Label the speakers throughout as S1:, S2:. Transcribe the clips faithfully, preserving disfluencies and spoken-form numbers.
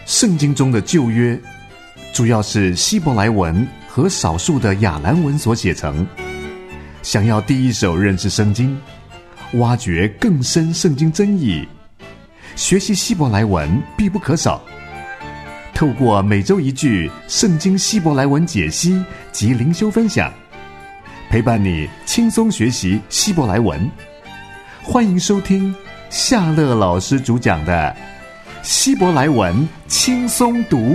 S1: 圣经中的旧约主要是希伯来文和少数的亚兰文所写成。想要第一手认识圣经，挖掘更深圣经真意，学习希伯来文必不可少。透过每周一句圣经希伯来文解析及灵修分享，陪伴你轻松学习希伯来文。欢迎收听夏乐老师主讲的希伯来文轻松读。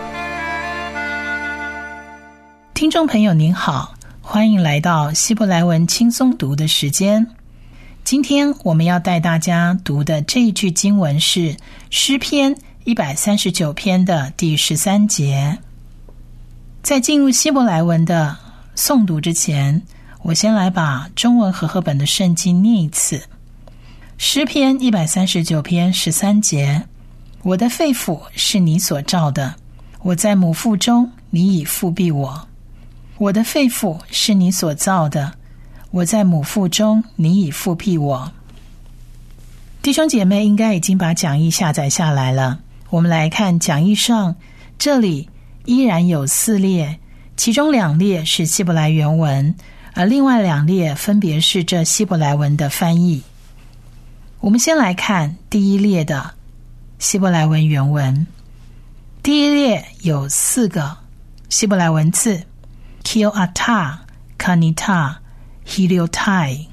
S2: 听众朋友您好，欢迎来到希伯来文轻松读的时间。今天我们要带大家读的这一句经文是诗篇一百三十九篇的第十三节。在进入希伯来文的诵读之前，我先来把中文和合本的圣经念一次。诗篇一百三十九篇十三节，我的肺腑是你所造的，我在母腹中，你已覆庇我。我的肺腑是你所造的，我在母腹中，你已覆庇我。弟兄姐妹应该已经把讲义下载下来了，我们来看讲义上，这里依然有四列，其中两列是希伯来原文，而另外两列分别是这希伯来文的翻译。我们先来看第一列的希伯来文原文。第一列有四个希伯来文字 Kioata, Kanita, Heliotai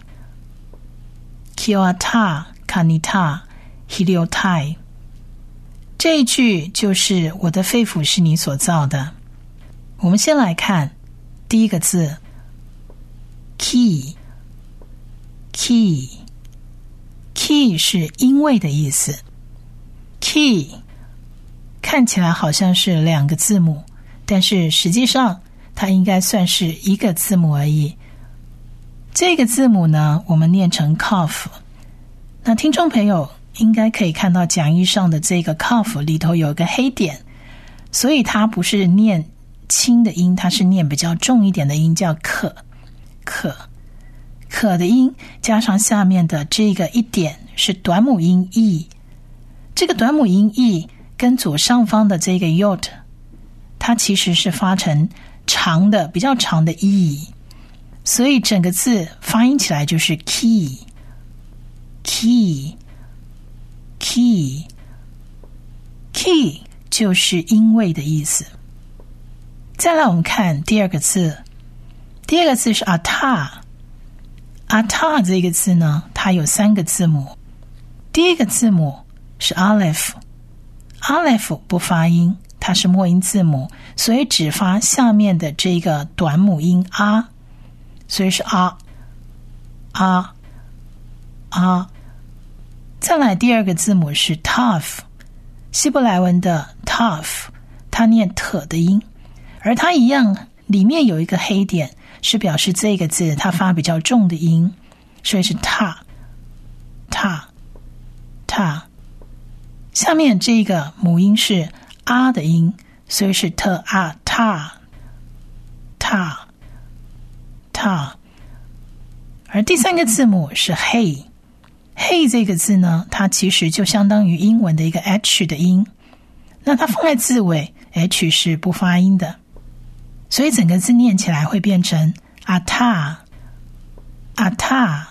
S2: Kioata, Kanita, Heliotai。 这一句就是我的肺腑是你所造的。我们先来看第一个字 Ki Ki Ki 是因为的意思。 Ki 看起来好像是两个字母，但是实际上它应该算是一个字母而已。这个字母呢，我们念成 Kaf。 那听众朋友应该可以看到讲义上的这个 Kaf 里头有个黑点，所以它不是念轻的音，它是念比较重一点的音，叫可可可的音加上下面的这个一点是短母音 e。 这个短母音 e 跟左上方的这个 yod 它其实是发成长的比较长的 e， 所以整个字发音起来就是 key key key key 就是因为的意思。再来我们看第二个字，第二个字是 ata。 ata 这个字呢，它有三个字母。第一个字母是 aleph， aleph 不发音，它是末音字母，所以只发下面的这个短母音 a， 所以是 a a a。 再来第二个字母是 taf， 希伯来文的 taf 它念特的音，而它一样里面有一个黑点，是表示这个字它发比较重的音，所以是 ta ta ta。 下面这个母音是 a 的音，所以是 ta a ta ta ta。 而第三个字母是 hey， hey 这个字呢，它其实就相当于英文的一个 h 的音，那它放在字尾 h 是不发音的，所以整个字念起来会变成 ata ata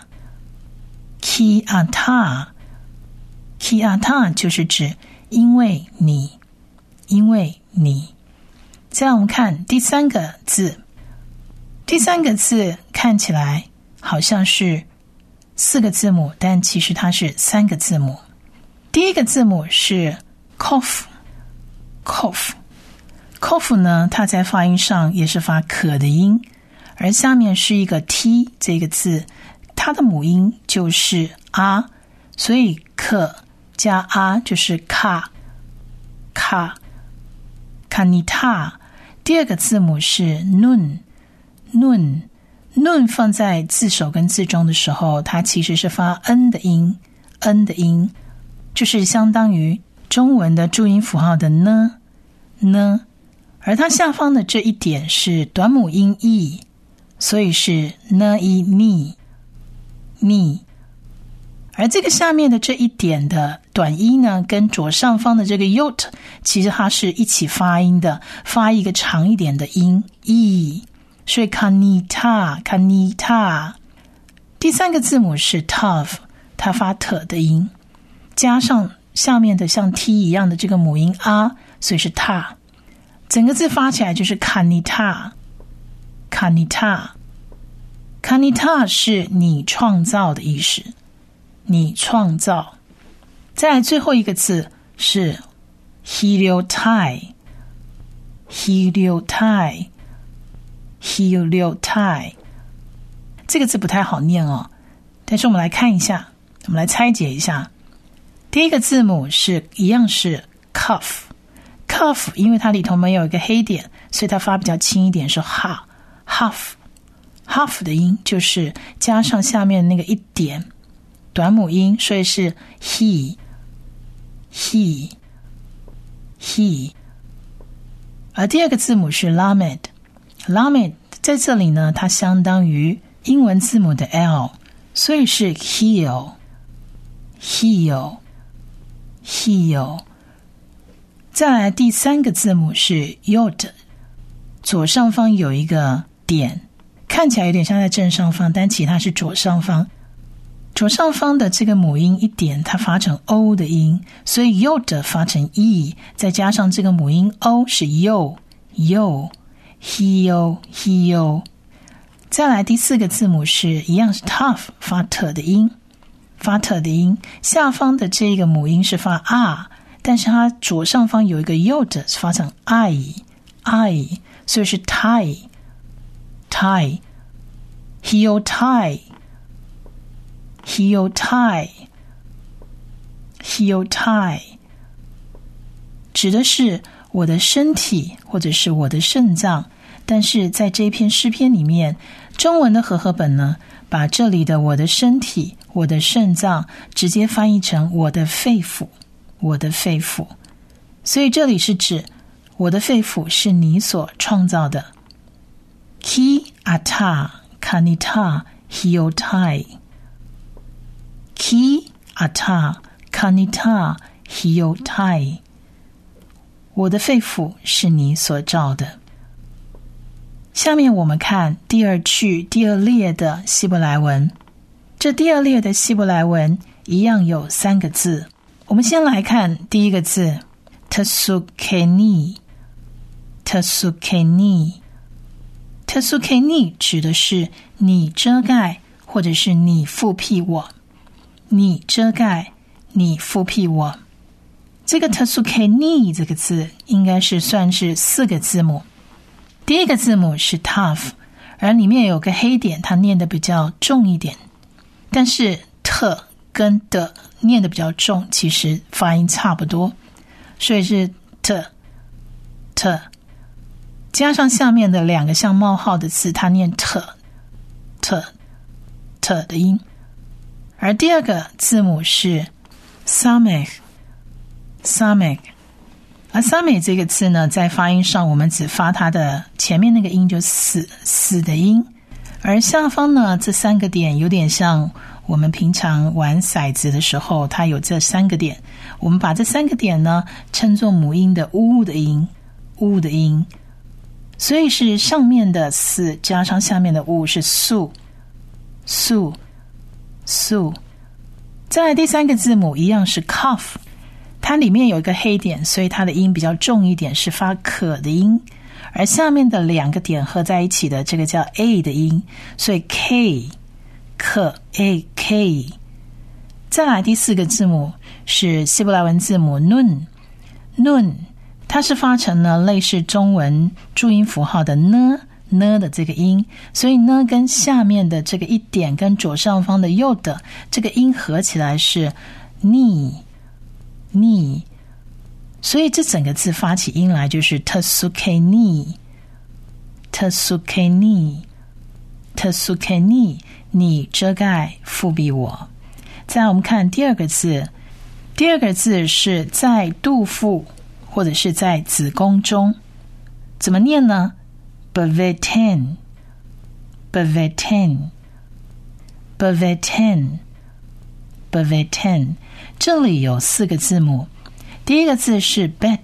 S2: ki ata ki ata， 就是指因为你因为你。再来我们看第三个字，第三个字看起来好像是四个字母，但其实它是三个字母。第一个字母是 kof kof kof 呢，它在发音上也是发可的音，而下面是一个 t 这个字，它的母音就是 a， 所以可加 a 就是卡卡卡尼塔。第二个字母是 nun nun nun 放在字首跟字中的时候，它其实是发 n 的音 n 的音，就是相当于中文的注音符号的呢呢，而它下方的这一点是短母音 e， 所以是呢 e 你你。 而这个下面的这一点的短音呢，跟左上方的这个 yot 其实它是一起发音的，发一个长一点的音 e， 所以 kanita kanita。 第三个字母是 tav， 它发 t 的音，加上下面的像 t 一样的这个母音 a， 所以是 ta， 整个字发起来就是 kanita kanita kanita 是你创造的意思，你创造。再来最后一个字是 heliotai heliotai heliotai， 这个字不太好念哦，但是我们来看一下，我们来拆解一下。第一个字母是一样是 cuff cuff， 因为它里头没有一个黑点，所以它发比较轻一点，是 ha huff huff 的音就是加上下面那个一点短母音，所以是 he he he。 而第二个字母是 lamed lamed， 在这里呢它相当于英文字母的 L， 所以是 heal heal heal。 再来第三个字母是 yod， 左上方有一个点，看起来有点像在正上方，但其实它是左上方。左上方的这个母音一点它发成 O 的音，所以 yod 发成 E， 再加上这个母音 O 是 yo yo heal heal。 再来第四个字母是一样是 tough， 发 t 的音发 t 的音，下方的这个母音是发 r， 但是它左上方有一个 yod 是发成 i i， 所以是 tie tie heal tie heal tie heal tie， 指的是我的身体或者是我的肾脏，但是在这篇诗篇里面，中文的和合本呢，把这里的我的身体我的肾脏直接翻译成我的肺腑我的肺腑，所以这里是指我的肺腑是你所创造的。 Ki ata kanita hiotai Ki ata kanita hiotai， 我的肺腑是你所造的。下面我们看第二句第二列的希伯来文，这第二列的希伯来文一样有三个字。我们先来看第一个字 Tesukeni Tesukeni Tesukeni 指的是你遮盖或者是你覆庇我，你遮盖你覆庇我。这个 Tesukeni 这个字应该是算是四个字母，第一个字母是 tough， 而里面有个黑点，它念得比较重一点，但是 t 跟的念得比较重，其实发音差不多，所以是 t t 加上下面的两个像冒号的字，它念 t t t 的音。而第二个字母是 samech samech， 而 samech 这个字呢，在发音上我们只发它的前面那个音，就死死的音，而下方呢这三个点有点像我们平常玩骰子的时候，它有这三个点，我们把这三个点呢称作母音的呜的音呜的音，所以是上面的死加上下面的呜，是素素素。再来第三个字母一样是 cough， 它里面有一个黑点，所以它的音比较重一点，是发可的音，而下面的两个点合在一起的这个叫 a 的音，所以 k 可 a k。 再来第四个字母是希伯来文字母 nun nun， 它是发成呢类似中文注音符号的呢呢的这个音，所以呢跟下面的这个一点跟左上方的右的这个音合起来是 ni ni， 所以这整个字发起音来就是 Tesukeni Tesukeni Tesukeni， 你遮盖覆庇我。再来我们看第二个字，第二个字是在肚腹或者是在子宫中，怎么念呢？ Beveten Beveten Beveten bevetan， 这里有四个字母，第一个字是 bet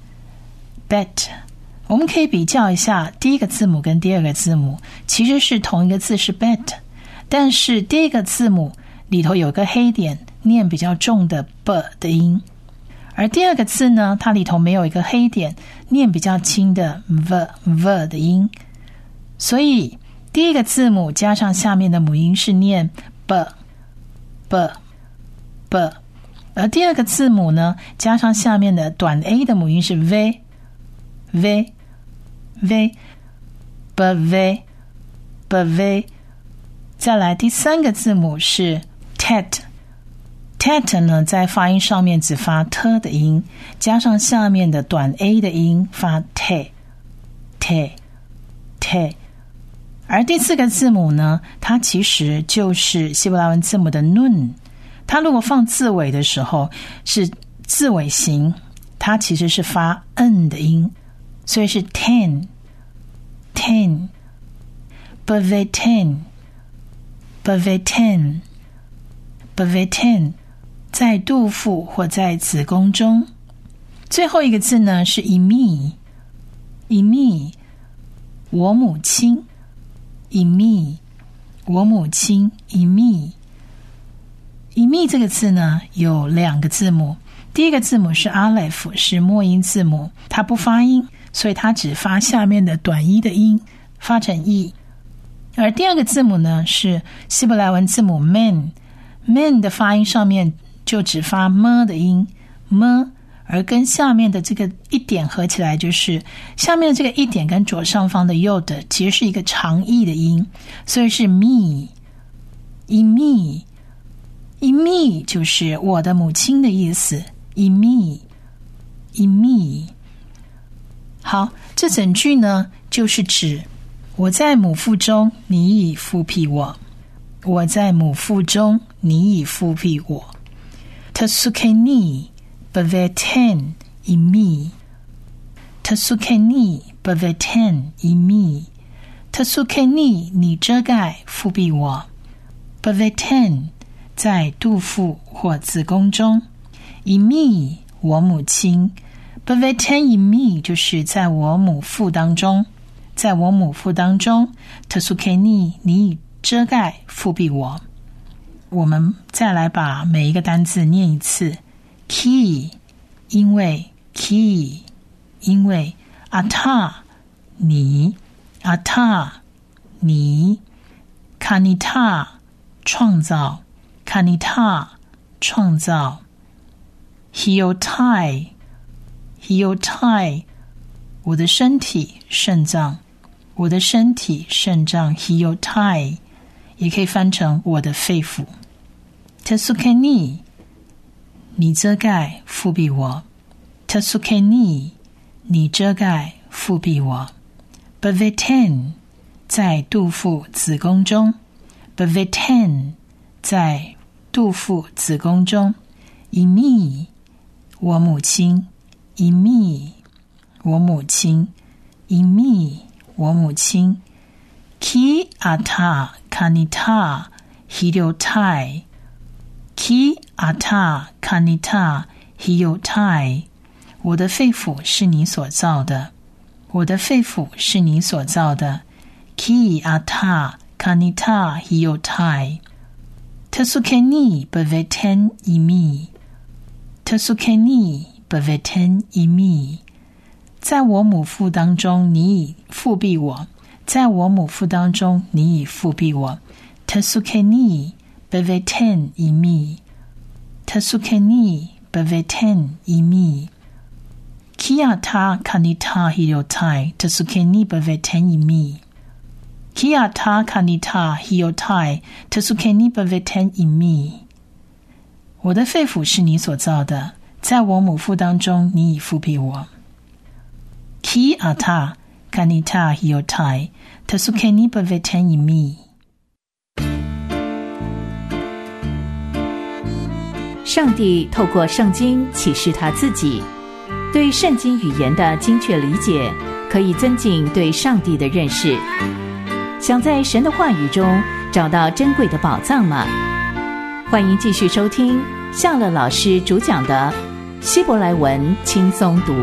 S2: bet， 我们可以比较一下第一个字母跟第二个字母，其实是同一个字是 bet， 但是第一个字母里头有个黑点，念比较重的 b 的音，而第二个字呢，它里头没有一个黑点，念比较轻的 v v 的音，所以第一个字母加上下面的母音是念 b b b， 而第二个字母呢，加上下面的短 a 的母音是 v v v b v b v。 再来第三个字母是 tet tet 呢，在发音上面只发 t 的音，加上下面的短 a 的音发 te te te。 而第四个字母呢，它其实就是希伯来文字母的 nun， 它如果放字尾的时候是字尾形，它其实是发 n 的音，所以是 ten ten bevetan bevetan bevetan， 在肚腹或在子宫中。最后一个字呢是 imi imi， 我母亲 imi， 我母亲 imi imi 这个字呢有两个字母，第一个字母是 aleph， 是末音字母，它不发音，所以它只发下面的短一的音，发成 e。 而第二个字母呢是希伯来文字母 men men 的发音上面就只发 m 的音 m， 而跟下面的这个一点合起来，就是下面的这个一点跟左上方的 yod 其实是一个长 e 的音，所以是 me imi imi 就是我的母亲的意思 imi imi。 好，这整句呢就是指我在母腹中，你已复辟我，我在母腹中，你已复辟我。 Tasukeni bevetan imi Tasukeni bevetan imi Tasukeni 你遮盖复辟我 bevetan 在肚腹或子宫中 imi 我母亲 bevetan imi 就是在我母腹当中，在我母腹当中 Tasukeni 你已遮盖复辟我。我们再来把每一个单字念一次。 Ki 因为 Ki 因为 Ata 你 Ata 你 Kanita 创造 Kanita 创造 Hiotai Hiotai 我的身体肾脏，我的身体肾脏 Hiotai 也可以翻成我的肺腑。 Tasukeni 你遮盖复辟我 Tasukeni 你遮盖复辟我 bevetan 在肚腹子宫中 bevetan 在肚腹子宫中 imi 我母亲 imi 我母亲 imi 我母亲 ki ata kanita hiotai Ki ata kanita hiotai 我的肺腑是你所造的，我的肺腑是你所造的 Ki ata kanita hiotai Tasukeni bevetan imi Tasukeni bevetan imi 在我母腹当中你已复辟我，在我母腹当中你已复辟我 Tasukeni bevetan imi Tasukeni bevetan imi Ki ata kanita hiotai Tasukeni bevetan imi Ki ata kanita hiotai Tasukeni bevetan imi 我的肺腑是你所造的，在我母腹当中你已复辟我 Ki ata kanita hiotai Tasukeni bevetan imi。
S3: 上帝透过圣经启示他自己，对圣经语言的精确理解可以增进对上帝的认识。想在神的话语中找到珍贵的宝藏吗？ 欢迎继续收听夏乐老师主讲的希伯来文轻松读。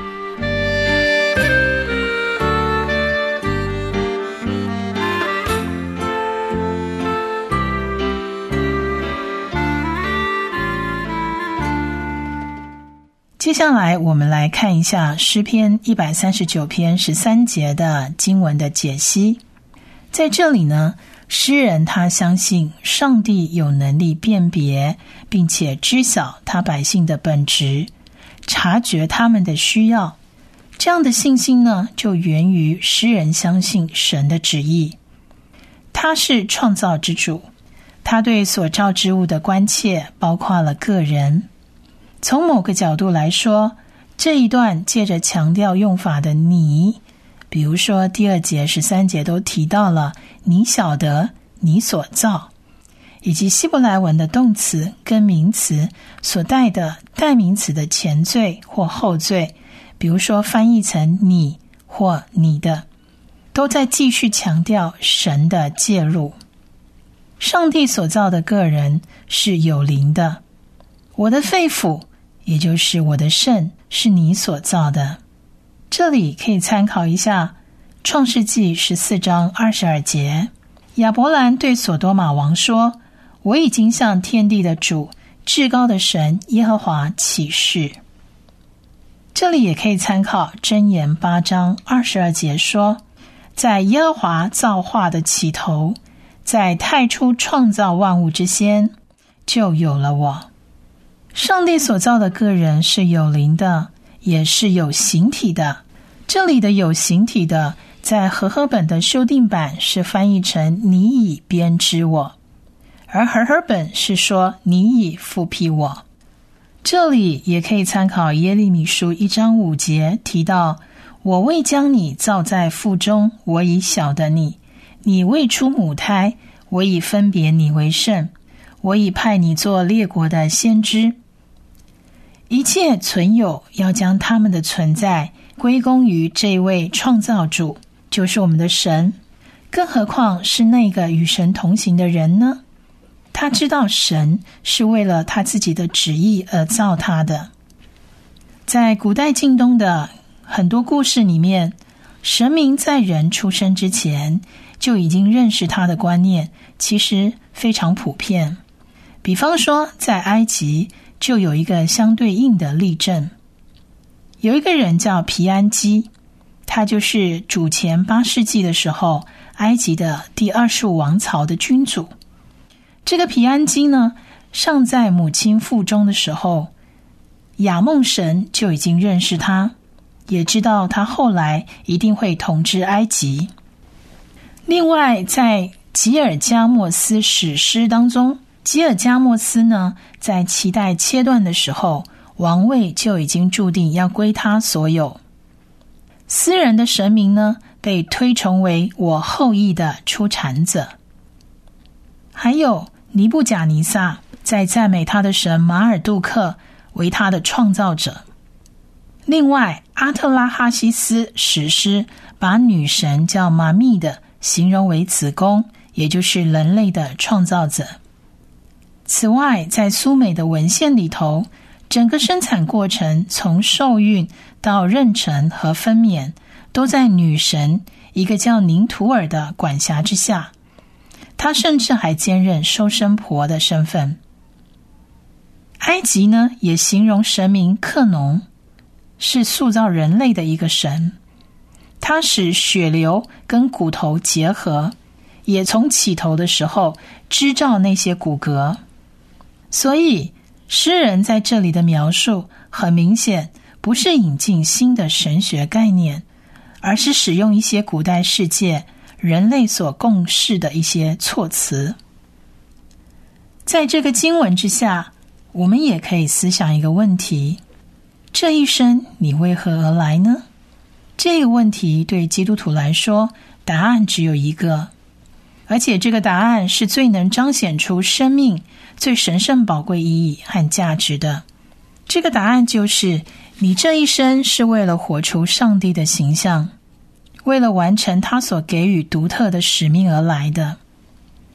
S2: 接下来我们来看一下诗篇一百三十九篇十三节的经文的解析。在这里呢，诗人他相信上帝有能力辨别并且知晓他百姓的本质，察觉他们的需要。这样的信心呢，就源于诗人相信神的旨意。他是创造之主，他对所造之物的关切包括了个人。从某个角度来说，这一段借着强调用法的你，比如说第二节十三节都提到了你晓得你所造，以及希伯来文的动词跟名词所带的代名词的前缀或后缀，比如说翻译成你或你的，都在继续强调神的介入。上帝所造的个人是有灵的，我的肺腑也就是我的肾是你所造的。这里可以参考一下创世纪十四章二十二节，亚伯兰对所多玛王说，我已经向天地的主至高的神耶和华起誓。这里也可以参考箴言八章二十二节说，在耶和华造化的起头，在太初创造万物之先，就有了我。上帝所造的个人是有灵的，也是有形体的。这里的有形体的，在和合本的修订版是翻译成你已编织我，而和合本是说你已复辟我。这里也可以参考耶利米书一章五节提到，我未将你造在腹中，我已晓得你，你未出母胎，我已分别你为圣，我已派你做列国的先知。一切存有要将他们的存在归功于这位创造主，就是我们的神。更何况是那个与神同行的人呢？他知道神是为了他自己的旨意而造他的。在古代近东的很多故事里面，神明在人出生之前就已经认识他的观念，其实非常普遍。比方说在埃及就有一个相对应的例证，有一个人叫皮安基，他就是主前八世纪的时候埃及的第二十五王朝的君主。这个皮安基呢，尚在母亲腹中的时候，亚梦神就已经认识他，也知道他后来一定会统治埃及。另外在吉尔加莫斯史诗当中，吉尔加莫斯呢，在脐带切断的时候，王位就已经注定要归他所有。私人的神明呢，被推崇为我后裔的出产者。还有尼布甲尼撒在赞美他的神马尔杜克为他的创造者。另外阿特拉哈西斯史诗把女神叫玛密的形容为子宫，也就是人类的创造者。此外，在苏美的文献里头，整个生产过程从受孕到妊娠和分娩，都在女神一个叫宁图尔的管辖之下。她甚至还兼任收生婆的身份。埃及呢，也形容神明克农，是塑造人类的一个神。他使血流跟骨头结合，也从起头的时候织造那些骨骼。所以诗人在这里的描述很明显不是引进新的神学概念，而是使用一些古代世界人类所共识的一些措辞。在这个经文之下，我们也可以思想一个问题，这一生你为何而来呢？这个问题对基督徒来说，答案只有一个，而且这个答案是最能彰显出生命最神圣宝贵意义和价值的。这个答案就是，你这一生是为了活出上帝的形象，为了完成他所给予独特的使命而来的。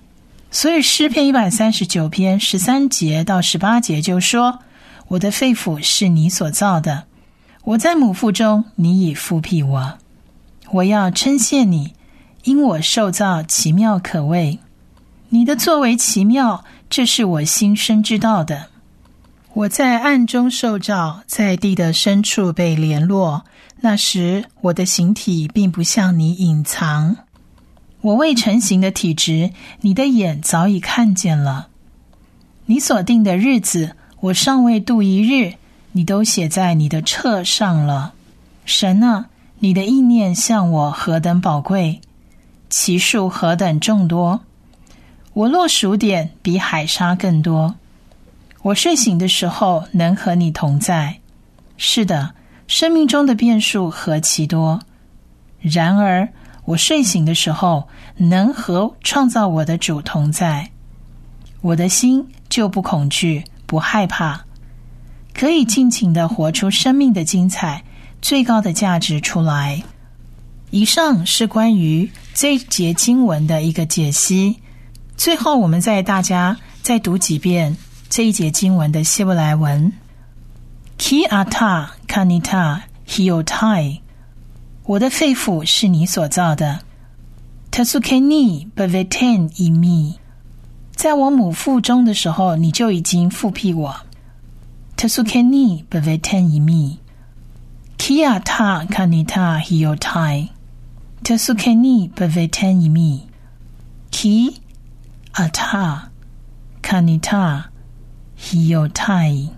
S2: 所以诗篇一百三十九篇十三节到十八节就说，我的肺腑是你所造的，我在母腹中，你已复辟我。我要称谢你，因我受造奇妙可畏。你的作为奇妙，这是我心生知道的。我在暗中受造，在地的深处被联络，那时我的形体并不向你隐藏。我未成形的体质，你的眼早已看见了。你所定的日子，我尚未度一日，你都写在你的册上了。神啊，你的意念向我何等宝贵，其数何等众多。我若数点，比海沙更多。我睡醒的时候，能和你同在。是的，生命中的变数何其多。然而我睡醒的时候，能和创造我的主同在。我的心就不恐惧，不害怕，可以尽情地活出生命的精彩，最高的价值出来。以上是关于这一节经文的一个解析。最后我们再大家再读几遍这一节经文的希伯来文。 Ki ata kanita hiotai， 我的肺腑是你所造的。 Tasukeni beveten imi， 在我母腹中的时候，你就已经复辟我。 Tasukeni beveten imi， Ki ata kanita hiotai， Tasukeni beveten imi， Ki ata kanita hiotai，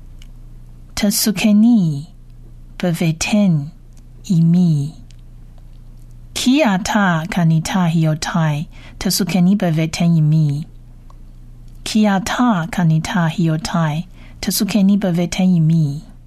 S2: Tasukeni beveten imi， Ki ata kanita hiotai， Tasukeni beveten imi， Ki ata kanita hiotai， Tasukeni beveten imi。